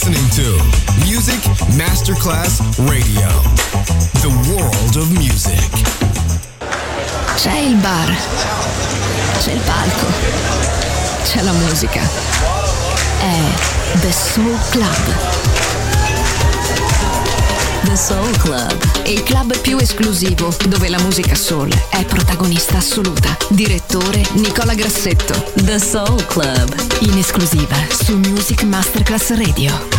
listening to Music Masterclass Radio. The world of music. C'è il bar, c'è il palco, c'è la musica. È The Soul Club. The Soul Club, il club più esclusivo dove la musica soul è protagonista assoluta. Direttore Nicola Grassetto. The Soul Club, in esclusiva su Music Masterclass Radio.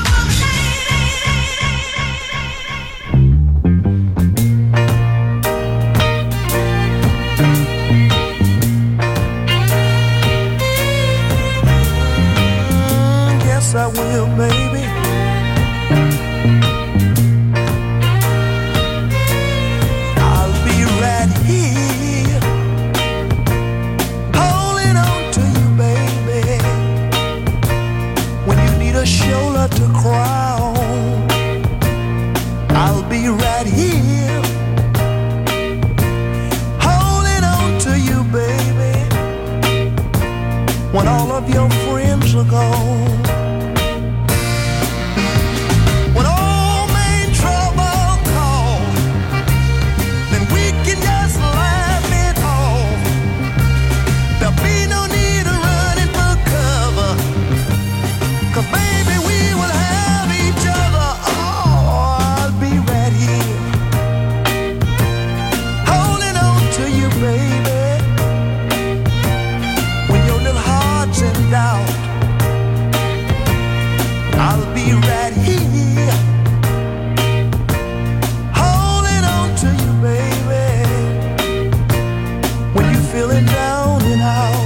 Yes, I will, baby. Shoulder to cry on, I'll be right here, holding on to you, baby, when all of your friends are gone. When old main trouble calls, then we can just laugh it off. There'll be no need of running for cover, 'cause baby, we will have each other. Oh, I'll be right here, holding on to you, baby, when your little heart's in doubt. I'll be right here, holding on to you, baby, when you're feeling down and out.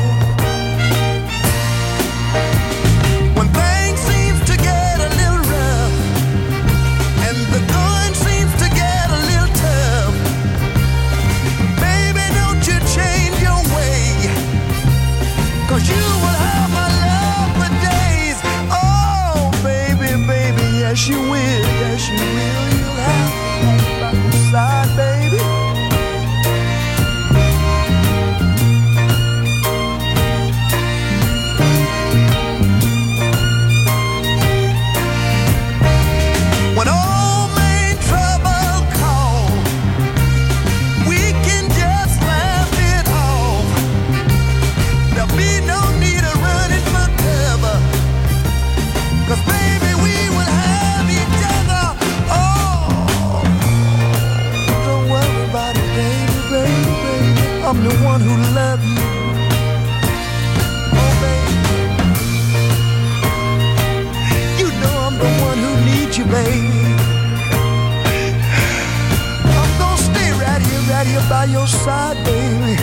Yes, you will, yes, you will. You'll have me by your side, baby. When old main trouble calls, we can just laugh it off. There'll be no need of running for cover, 'cause baby, we will have I'm the one who loves you. Oh, baby. You know I'm the one who needs you, baby. I'm gonna stay right here by your side, baby.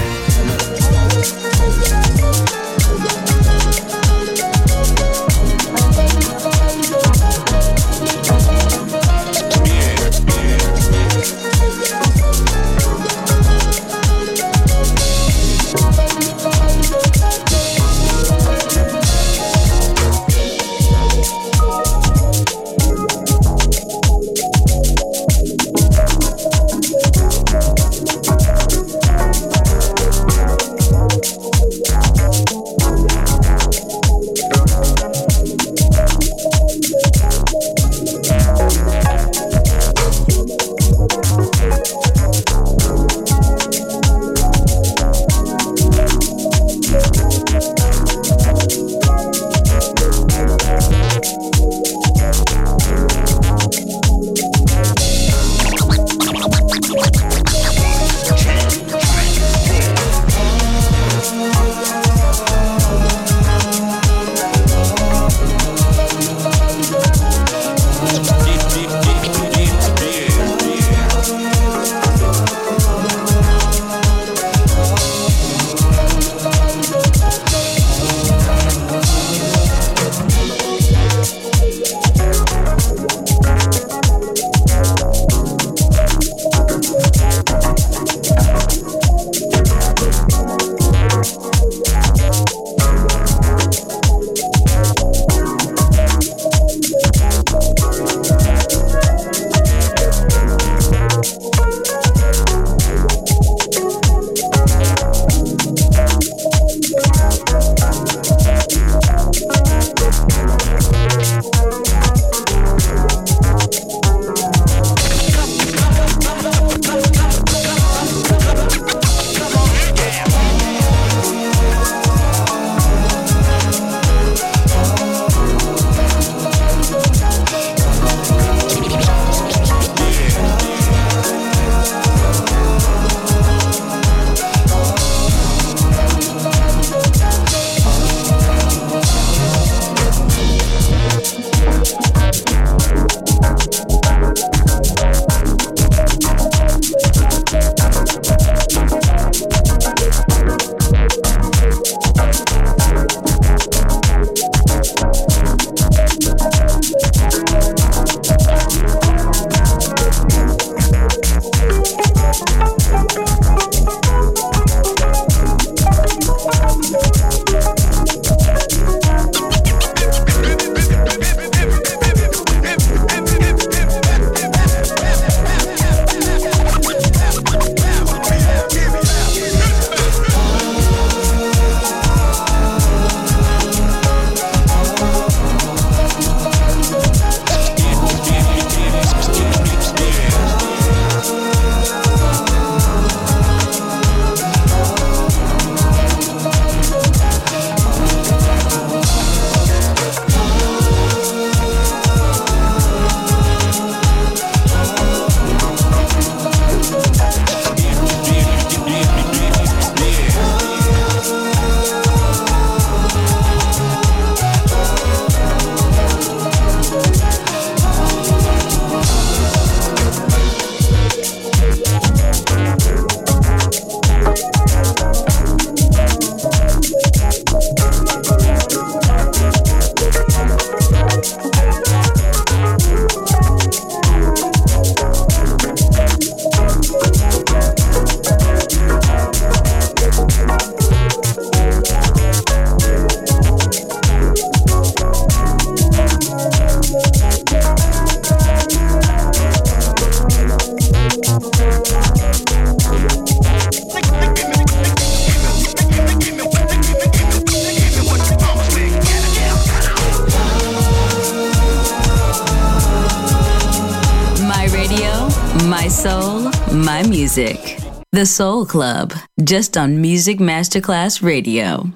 soul, my music. The Soul Club, just on Music Masterclass Radio.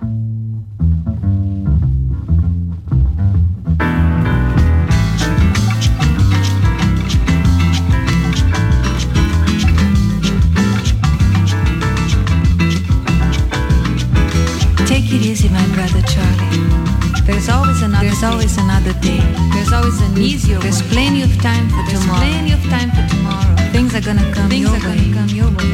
Take it easy, my brother Charlie. There's always another day. There's always an easier way. There's plenty of time for tomorrow. Things are gonna come your way.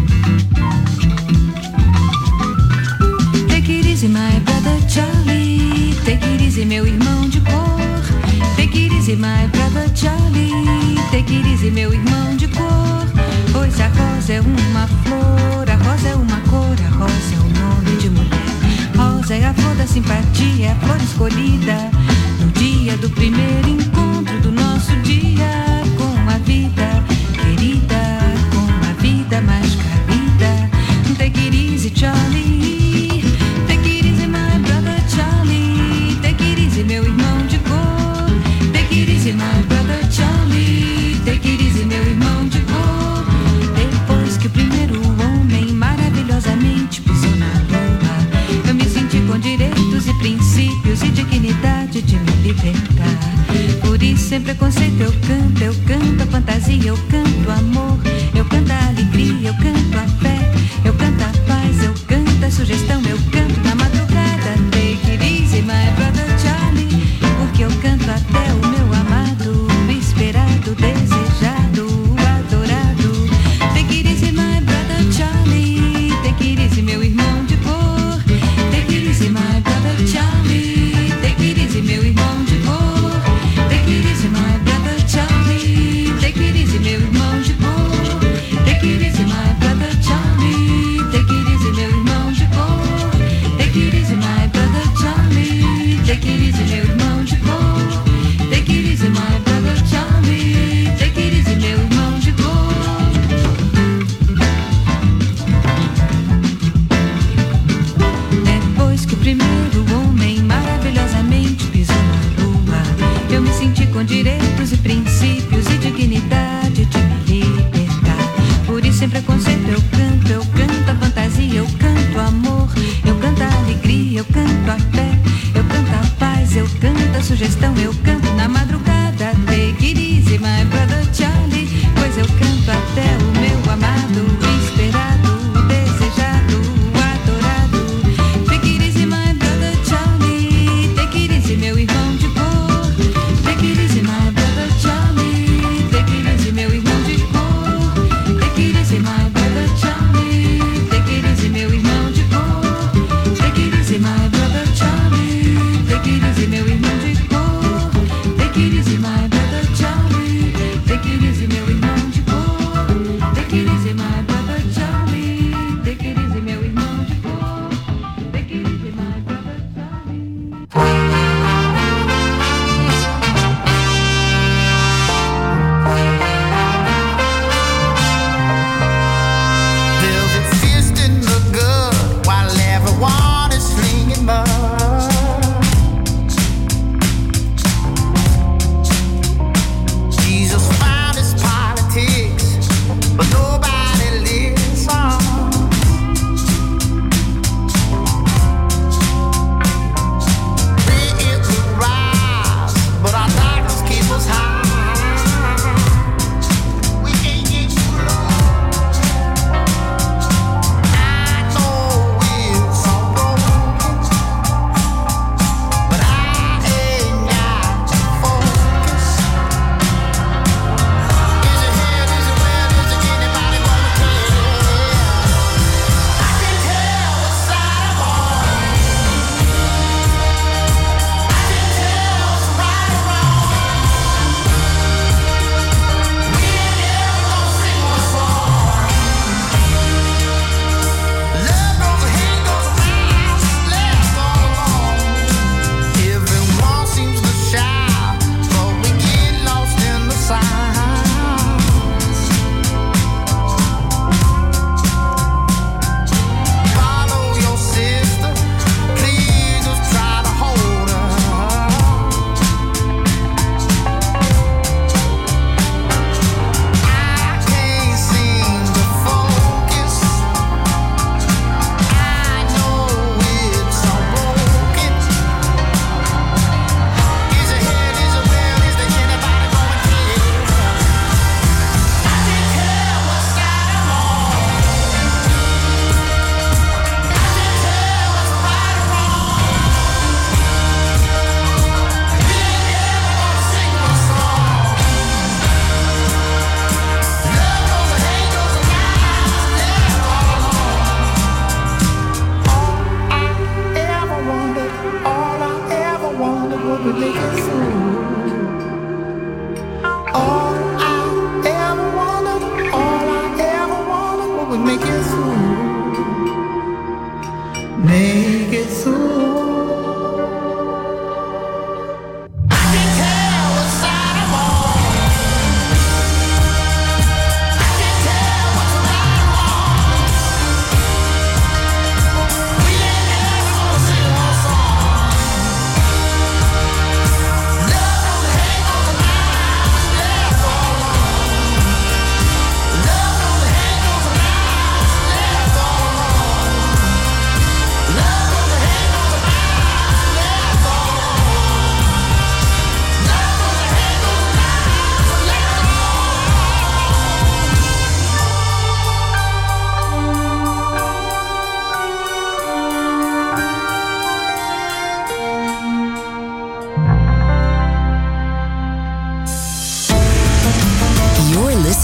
Take it easy, my brother Charlie. Take it easy, meu irmão de cor. Take it easy, my brother Charlie. Take it easy, meu irmão de cor. Pois a rosa é uma flor, a rosa é uma cor, a rosa é um nome de mulher. Rosa é a flor da simpatia, a flor escolhida no dia do primeiro encontro do nosso dia com a vida querida, com a vida mais querida. Take it easy, Charlie. Take it easy, my brother Charlie. Take it easy, meu irmão de cor. Take it easy, my brother Charlie. Take it easy, meu irmão de cor. Depois que o primeiro homem maravilhosamente pisou na lua, eu me senti com direitos e princípios e dignidade de me libertar. Por isso, sem preconceito, eu canto a fantasia, eu canto amor, eu canto a alegria, eu canto a fé, eu canto a paz, eu canto a sugestão, eu canto na madrugada. Take it easy, my brother Charlie, porque eu canto até o meu amado, esperado, desejado, adorado. Take it easy, my brother Charlie. Take it easy, meu irmão de cor. Take it easy, my brother Charlie. Take it easy, meu irmão de cor. Take it easy, my brother Charlie. Take it easy, meu irmão de cor. Take it easy, my brother Charlie. Take it easy, meu irmão de cor. Take it easy, my brother Charlie. Take it easy, meu irmão de cor. Take it easy, my brother Charlie. Take it easy, meu irmão de cor. Depois que o primeiro homem maravilhosamente pisou na lua, eu me senti com direitos e princípios e dignidade de me libertar. Por isso, sem preconceito, eu canto a fantasia, eu canto amor, eu canto a alegria, eu canto a fé, eu canto a paz, eu canto a sugestão, eu canto na madrugada. Take it easy, my brother Charlie, pois eu canto até o meu amado, esperado, desejado, adorado. Take it easy, my brother Charlie. Take it easy, meu irmão de cor. Take it easy, my brother Charlie. Take it easy, meu irmão de cor. Take it easy, my brother Charlie. Take it easy, meu irmão de cor. Take it easy, my brother Charlie. Take it easy, meu irmão de cor. Take it easy, my brother Charlie. Take it easy, meu irmão de cor. Take it easy, my brother.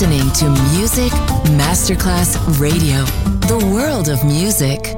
listening to Music Masterclass Radio, the world of music.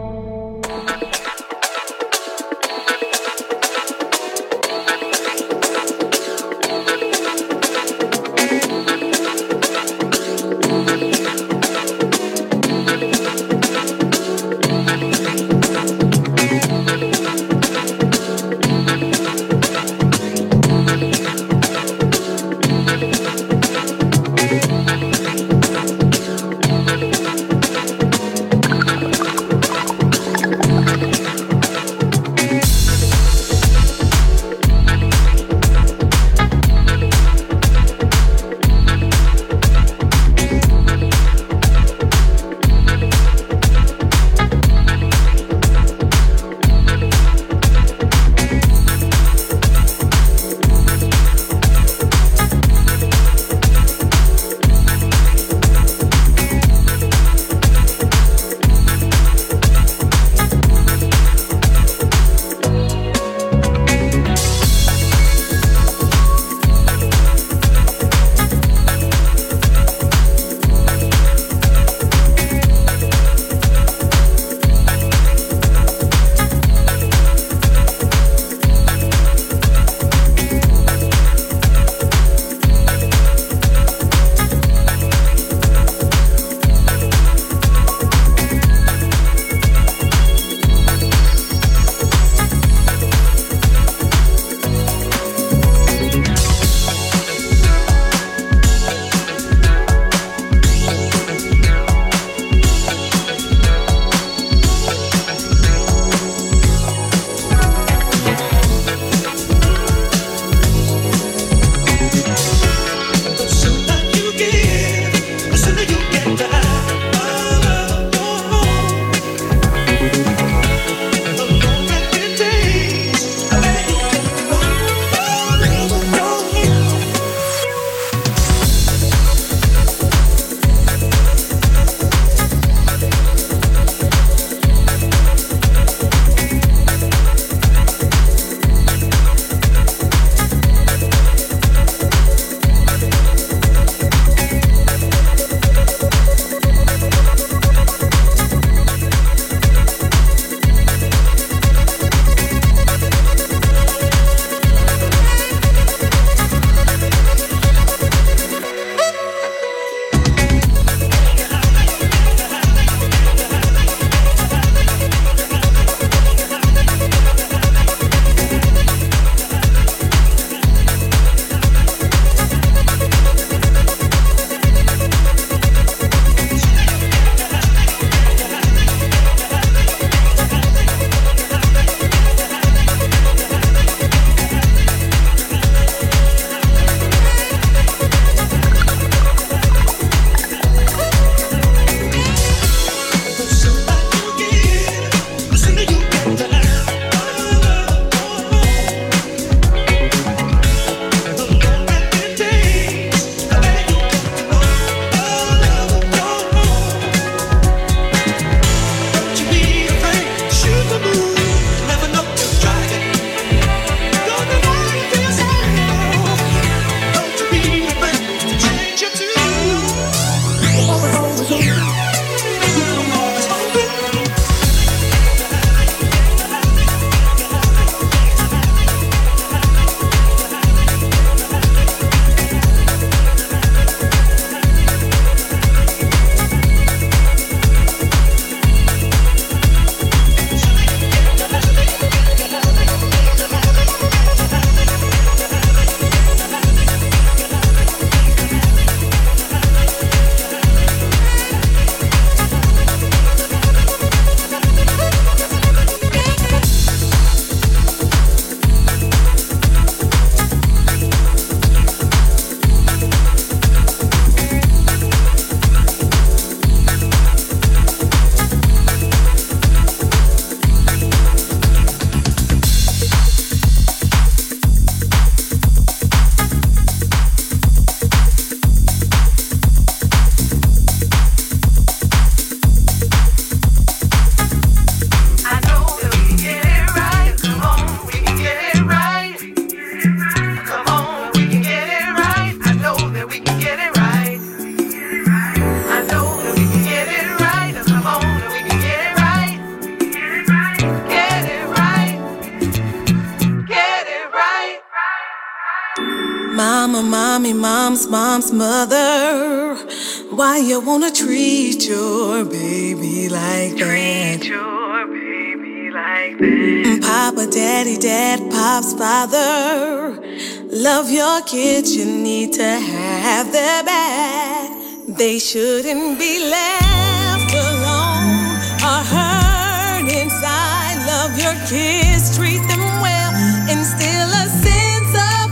Mama, mommy, mom's mother. Why you wanna treat your baby like that? Treat your baby like that. Papa, daddy, dad, pop's father. Love your kids, you need to have their back. They shouldn't be left alone or hurt inside. Love your kids, treat them well, instill a sense of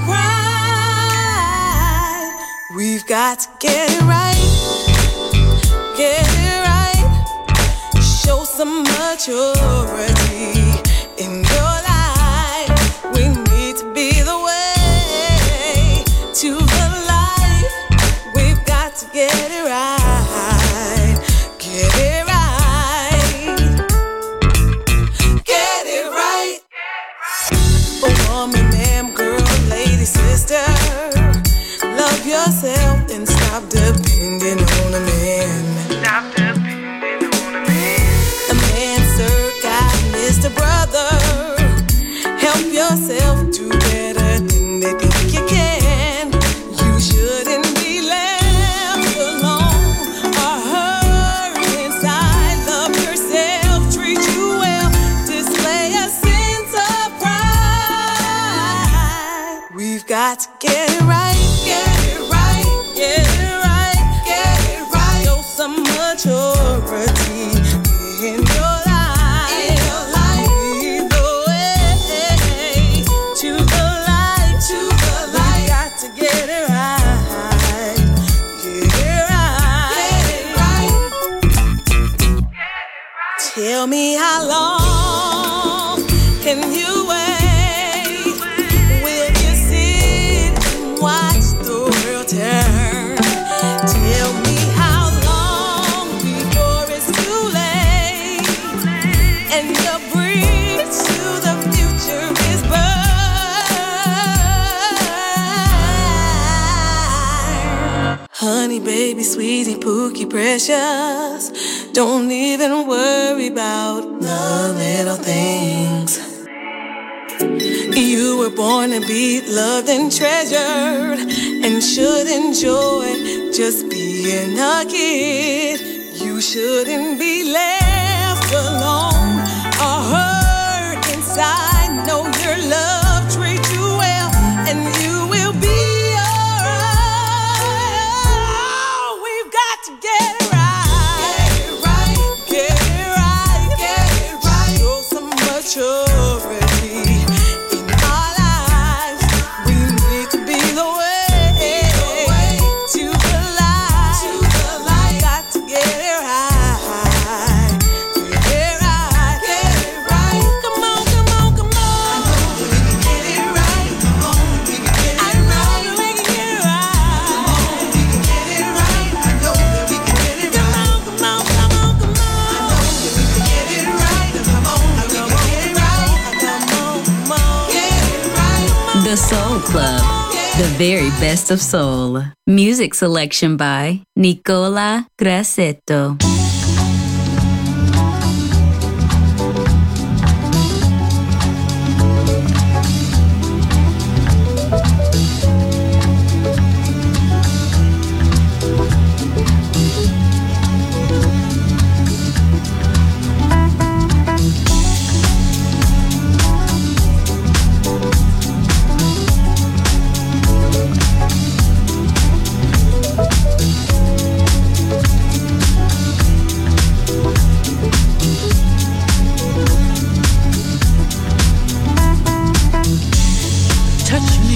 pride. We've got to get it right, get it right. Show some maturity in your life. We need to be the way to the light. We've got to get it right, get it right, get it right. Oh, woman, ma'am, girl, lady, sister, love yourself and stop depending on a man. Stop depending on a man. A man, sir, God, Mr. Brother, help yourself do better than they think you can. You shouldn't be left alone or hurt inside. Love yourself, treat you well, display a sense of pride. We've got to get it right, get it right, get it right, get it right. Show some maturity in your life. In your life. Lead the way to the light, to the light. We got to get it right, get it right, get it right. Tell me how long can you wait? Will you sit and watch the world turn? Tell me how long before it's too late and your bridge to the future is burned. Honey, baby, sweetie, pookie, precious. Don't even worry about the little things. You were born to be loved and treasured and should enjoy just being a kid. You shouldn't be left alone or hurt inside. Know your love, treat you well, and you will be alright. We've got to get it right, get it right, get it right. Show some maturity in our lives. We need to be the way to the light. Got to get it right, get it right, get it right. Come on, come on, come on. I know that we can get it right. Come on, we can get it right. I know that we can get it right. Come on, we can get it right. I know that we can get it right. Come on, come on, come on, come on. I know that we can get it right. Come on, we can get it right. Come on, come on, get it right. The Soul Club, the very best of soul. Music selection by Nicola Grassetto. Touch me,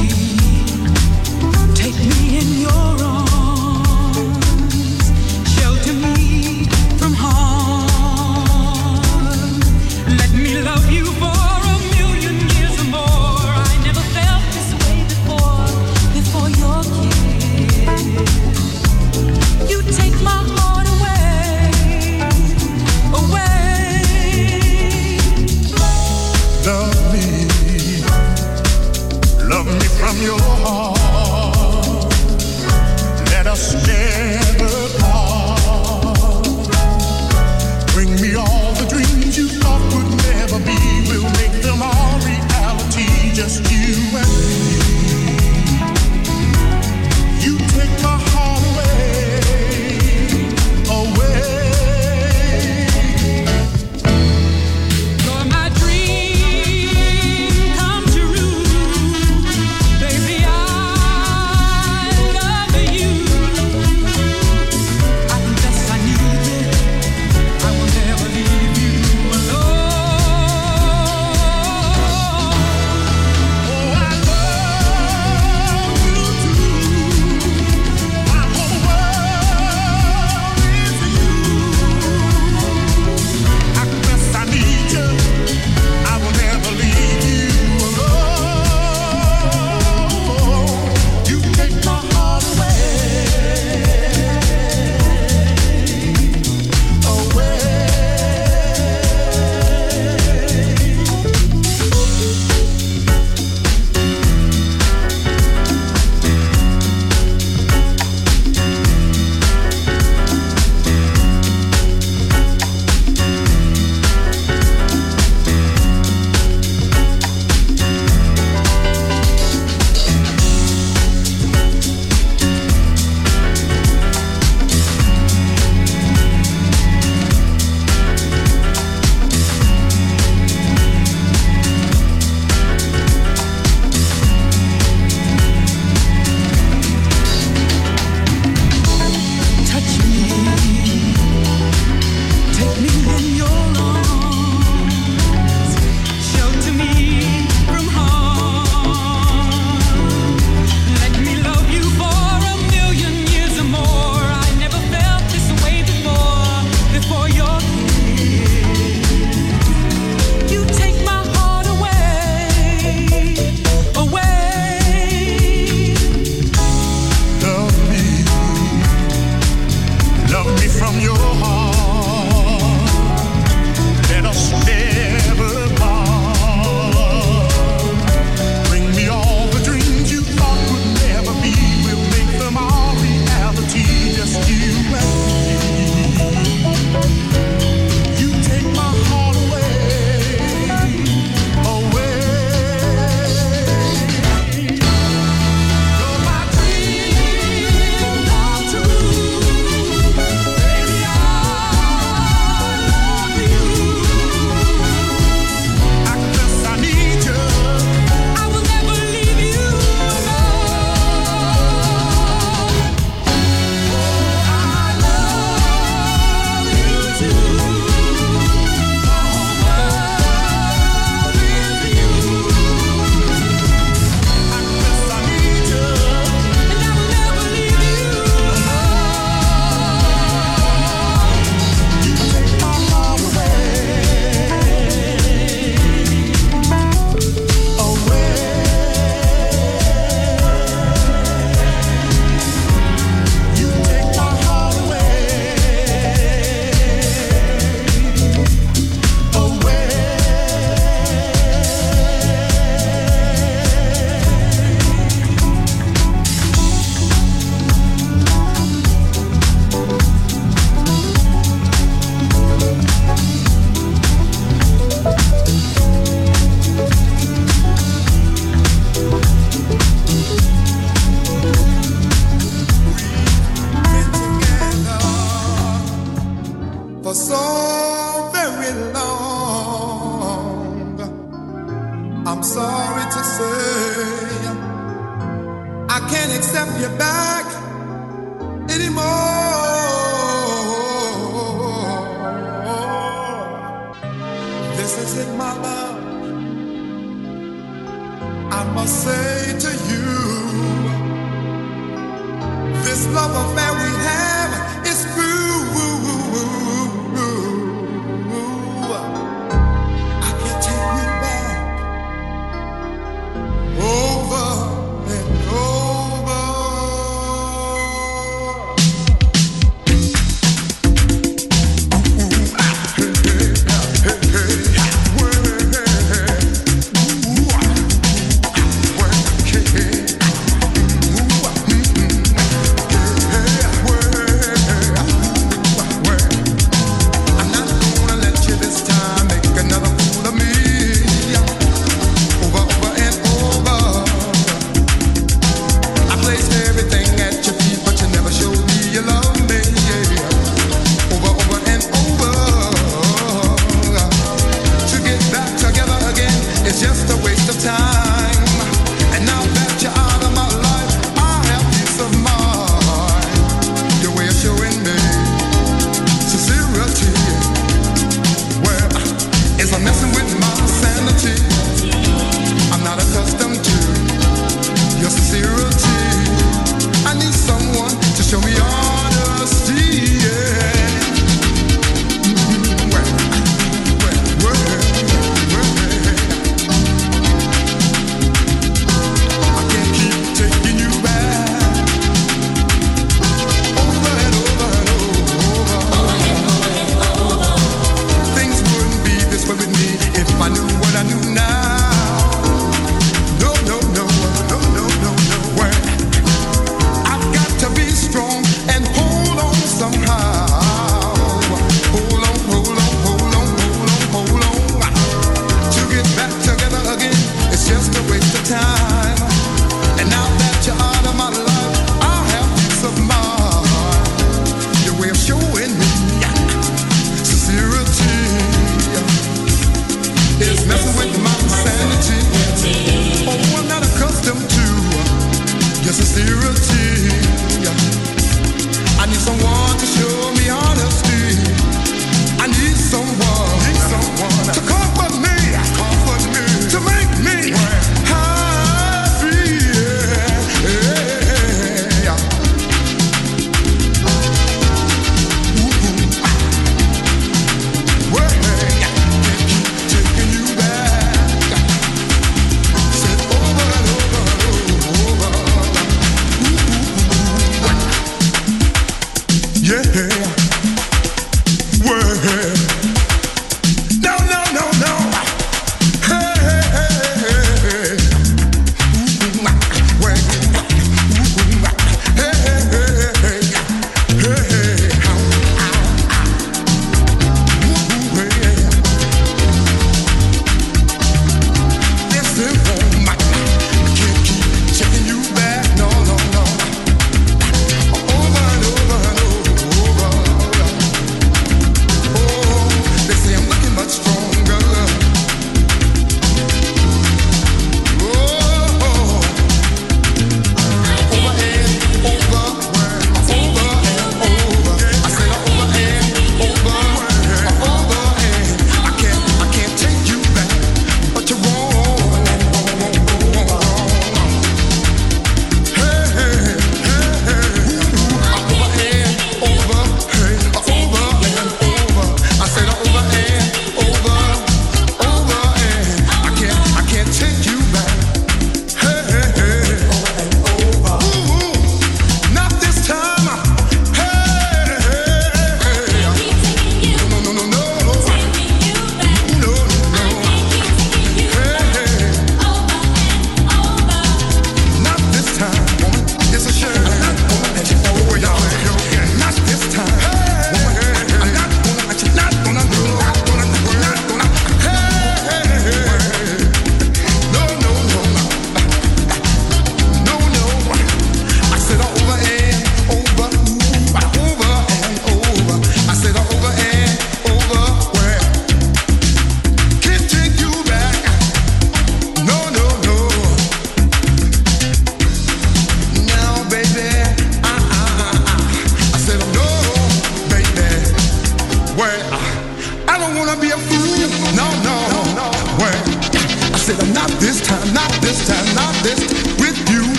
take me in your arms, shelter me from harm. Let me love you for a million years or more. I never felt this way before your kiss. You take my heart away. Love me from your heart. Let us never part. Bring me all the dreams you thought would never be. We'll make them all reality, just you and me. I can't accept you back anymore. This is it, my love. I must say to you, this love affair we have is through. I can't take you back over and over. Hey,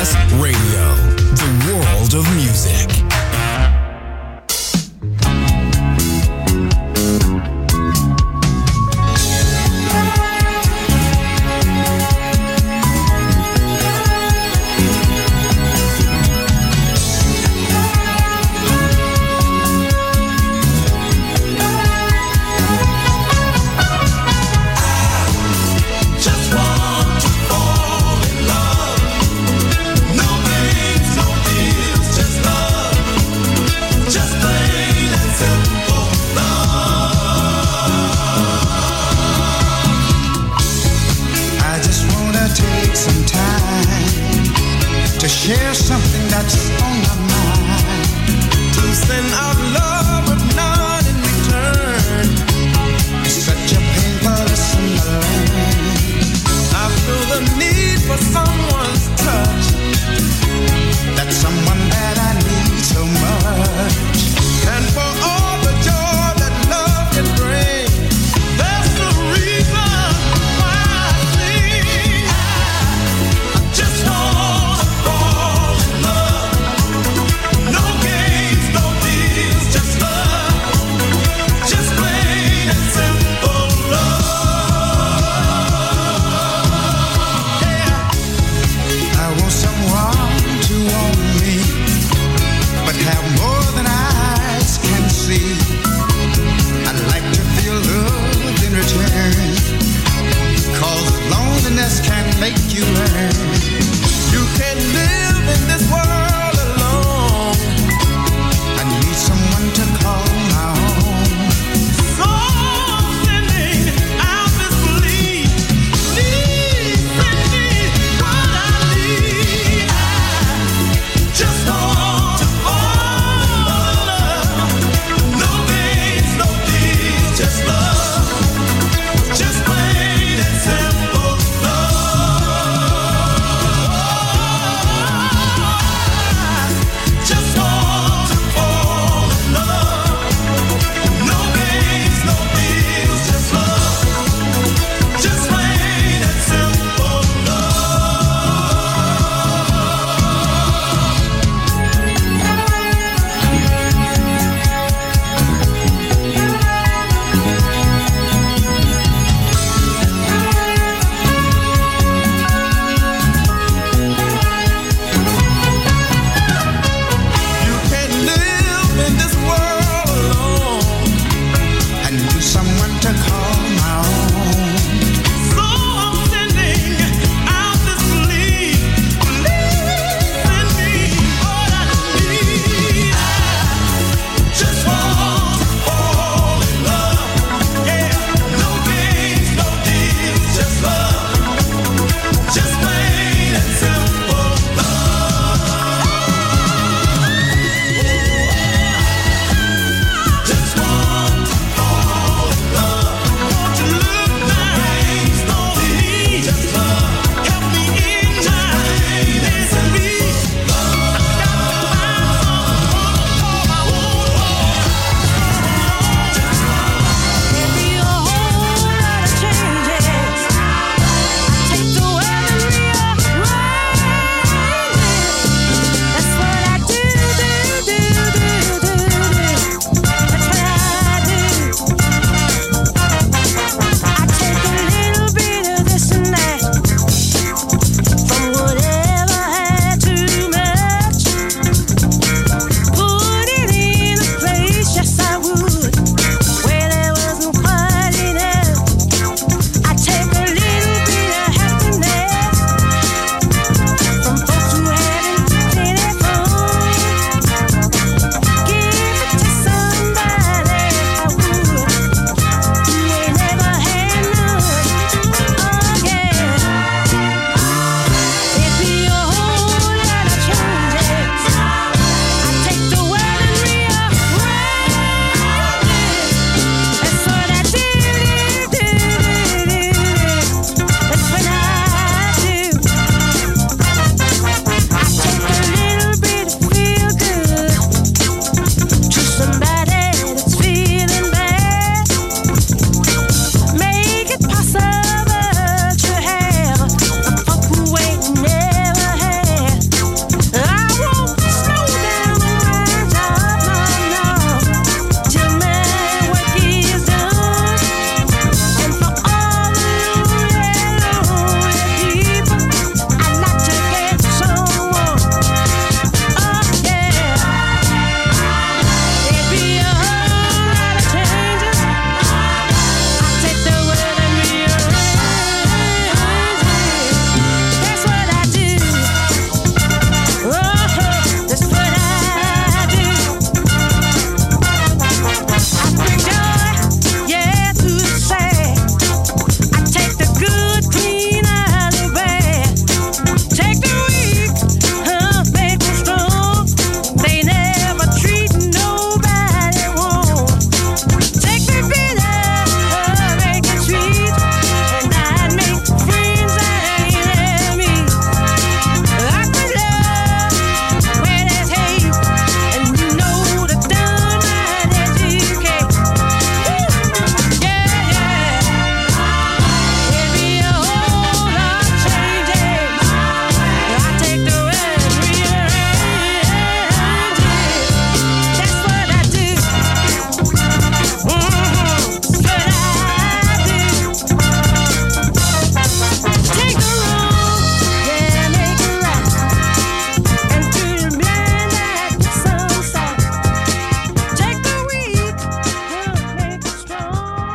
Masterclass Radio, the world of music. Just want to fall in love. Nobody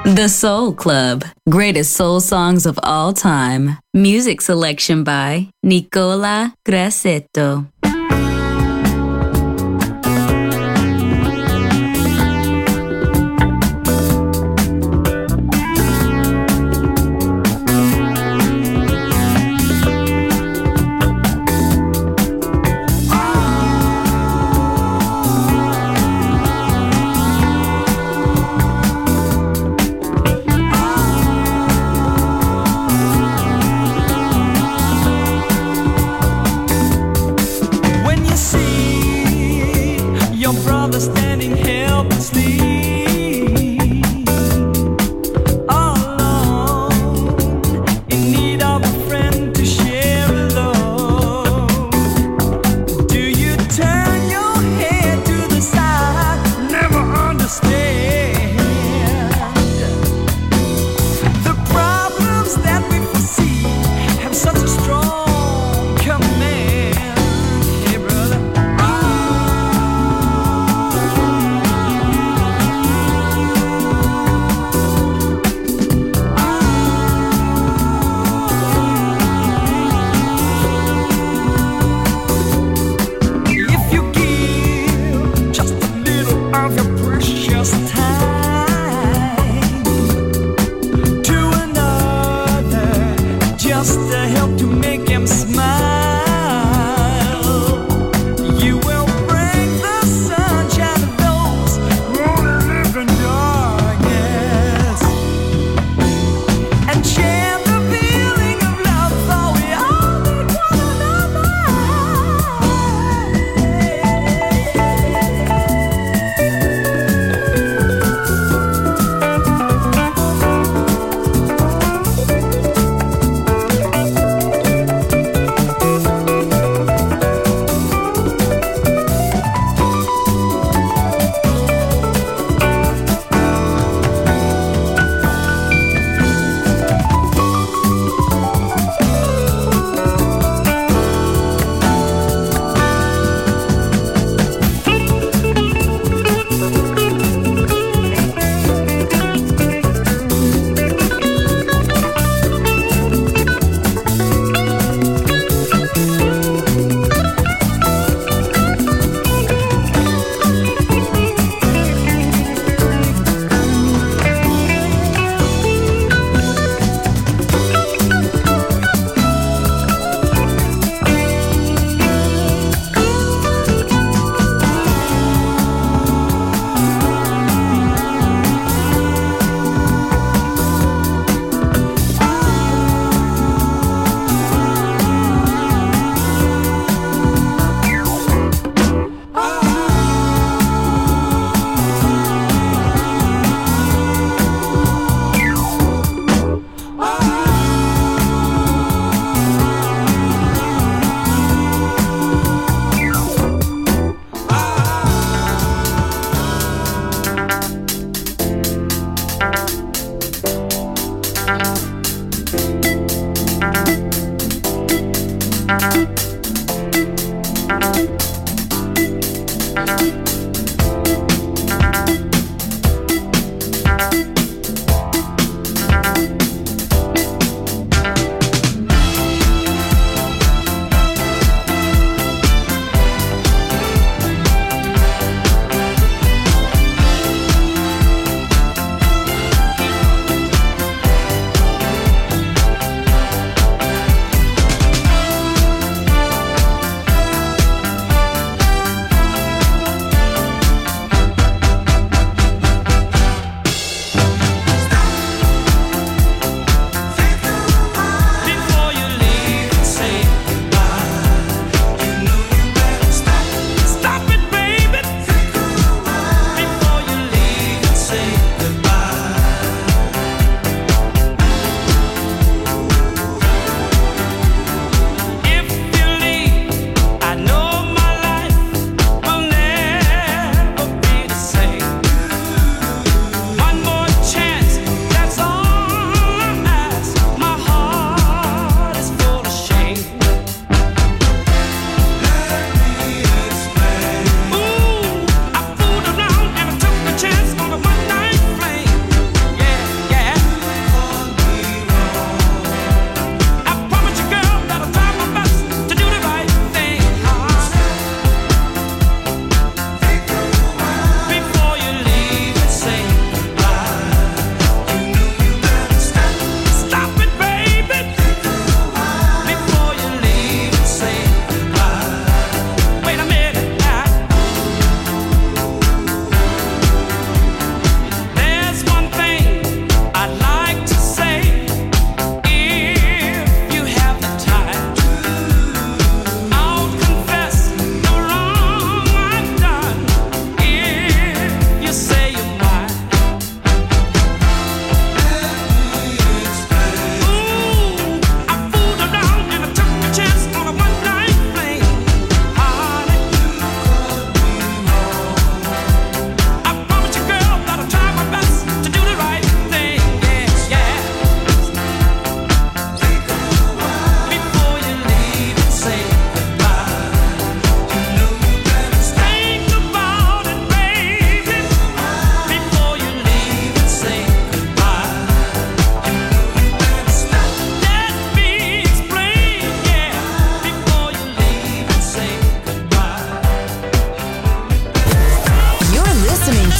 The Soul Club. Greatest soul songs of all time. Music selection by Nicola Grassetto.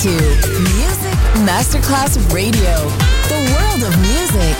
to Music Masterclass Radio, the world of music.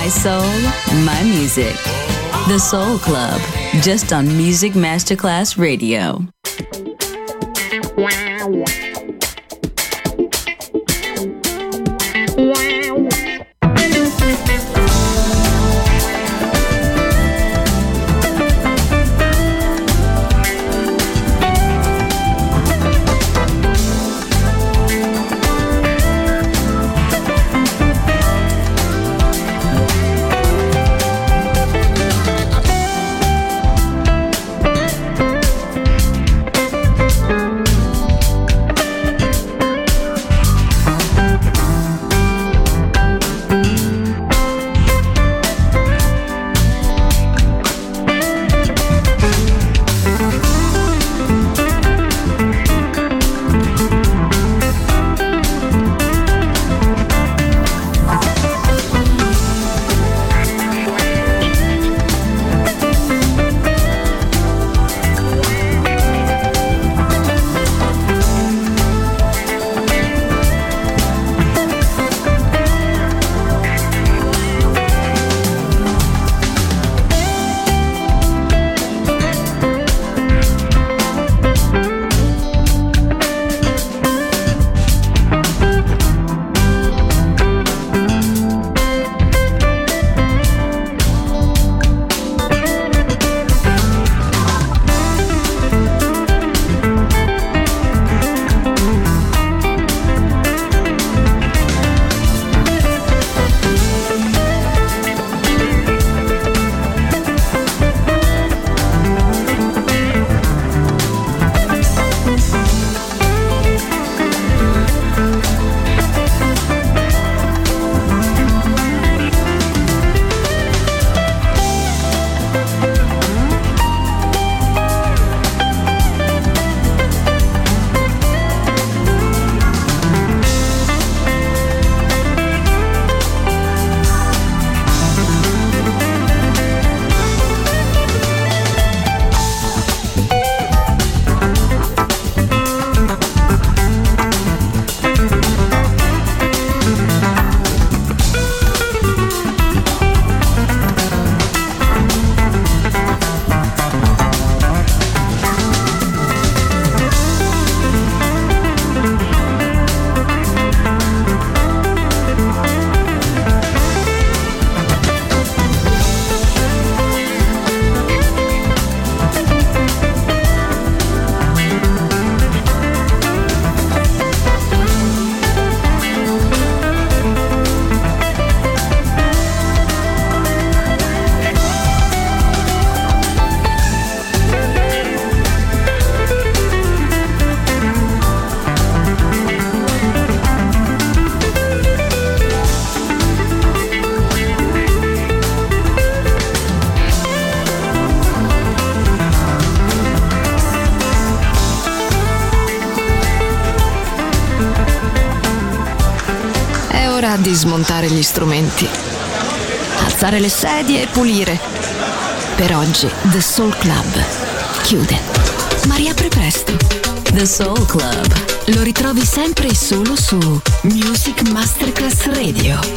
My soul, my music. The Soul Club, just on Music Masterclass Radio. Di smontare gli strumenti, alzare le sedie e pulire. Per oggi The Soul Club chiude, ma riapre presto. The Soul Club lo ritrovi sempre e solo su Music Masterclass Radio.